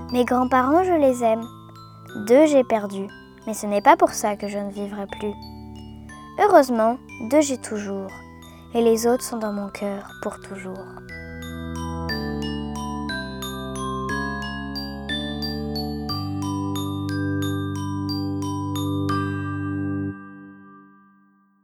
Mes grands-parents, je les aime. 2 j'ai perdu, mais ce n'est pas pour ça que je ne vivrai plus. Heureusement, 2 j'ai toujours, et les autres sont dans mon cœur pour toujours.